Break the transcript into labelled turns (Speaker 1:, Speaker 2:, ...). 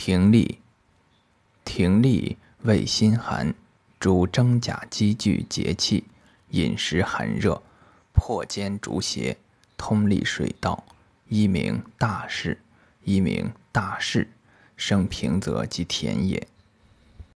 Speaker 1: 葶苈，葶苈味辛寒，主真假积聚节气，饮食寒热，破坚逐邪，通利水道，一名大士，一名大士，生平泽及田也。